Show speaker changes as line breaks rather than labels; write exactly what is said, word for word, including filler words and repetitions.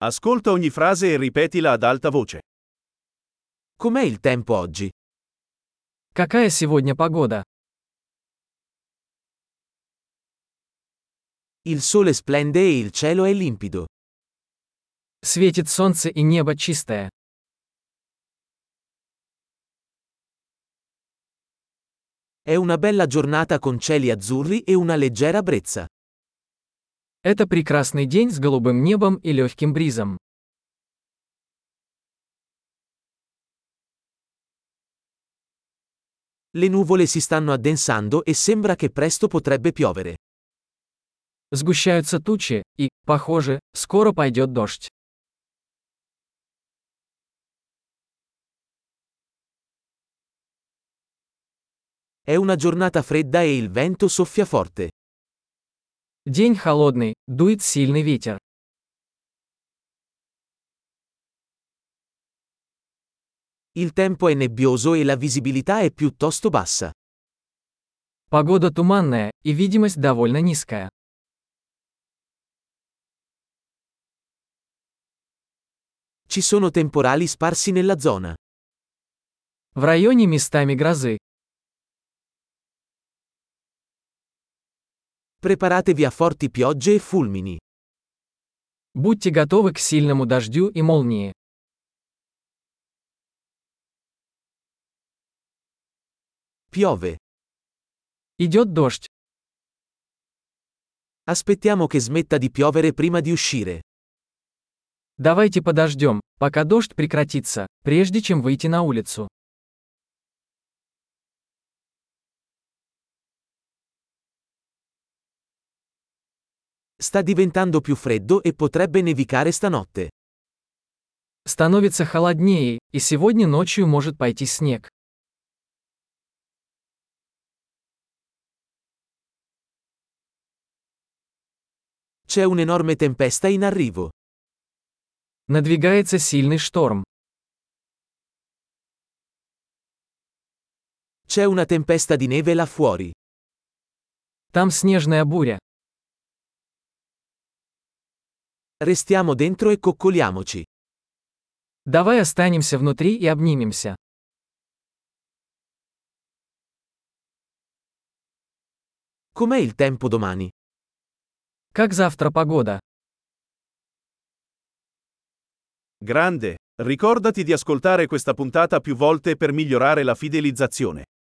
Ascolta ogni frase e ripetila ad alta voce.
Com'è il tempo oggi?
Какая сегодня погода?
Il sole splende e il cielo è limpido.
Светит солнце и небо чистое.
È una bella giornata con cieli azzurri e una leggera brezza.
Это прекрасный день с голубым небом и легким бризом.
Le nuvole si stanno addensando e sembra che presto potrebbe piovere.
Сгущаются тучи, и, похоже, скоро пойдет дождь.
È una giornata fredda e il vento soffia forte.
День холодный, дует сильный ветер.
Il tempo è nebbioso e la visibilità è piuttosto bassa.
Погода туманная, и видимость довольно низкая.
Ci sono temporali sparsi nella zona.
В районе местами грозы.
Preparatevi a forti piogge e fulmini.
Будьте готовы к сильному дождю и молнии.
Piove.
Идет дождь.
Aspettiamo che smetta di piovere prima di uscire.
Давайте подождем, пока дождь прекратится, прежде чем выйти на улицу.
Sta diventando più freddo e potrebbe nevicare stanotte.
Становится холоднее, и сегодня ночью может пойти снег.
C'è un'enorme tempesta in arrivo.
Надвигается сильный шторм.
C'è una tempesta di neve là fuori.
Там снежная буря.
Restiamo dentro e coccoliamoci.
Давай останемся внутри и обнимемся.
Com'è il tempo domani?
Как завтра погода?
Grande, ricordati di ascoltare questa puntata più volte per migliorare la fidelizzazione.